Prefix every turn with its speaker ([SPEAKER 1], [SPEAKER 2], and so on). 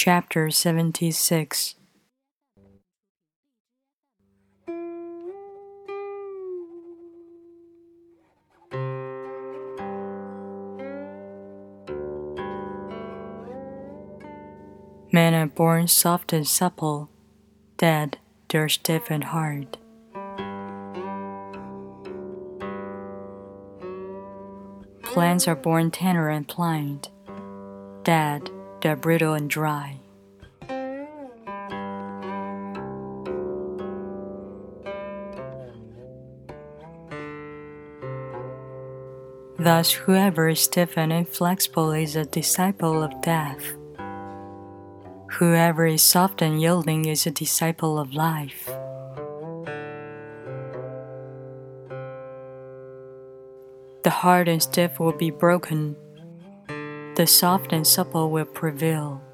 [SPEAKER 1] Chapter 76. Men are born soft and supple, dead they're stiff and hard. Plants are born tender and pliant, dead they're brittle and dry. Thus, whoever is stiff and inflexible is a disciple of death. Whoever is soft and yielding is a disciple of life. The hard and stiff will be broken. The soft and supple will prevail.